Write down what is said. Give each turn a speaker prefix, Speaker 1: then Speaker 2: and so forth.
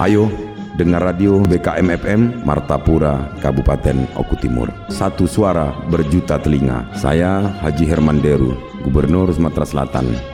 Speaker 1: Ayo, dengar radio BKM FM Martapura, Kabupaten Oku Timur. Satu suara berjuta telinga. Saya Haji Herman Deru, Gubernur Sumatera Selatan.